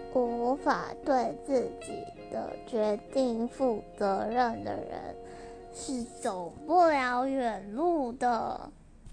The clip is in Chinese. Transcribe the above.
无法对自己的决定负责任的人，是走不了远路的。